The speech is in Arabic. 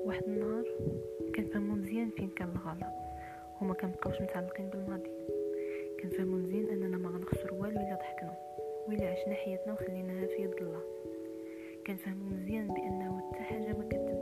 واحد النهار كنفهمو مزيان فين كان الغلط، وما كنبقاوش متعلقين بالماضي. كنفهمو مزيان اننا ما غنخسر والو الا ضحكنا وإلا عشنا حياتنا وخليناها في يد الله. كنفهمو مزيان بانه حتى حاجه ما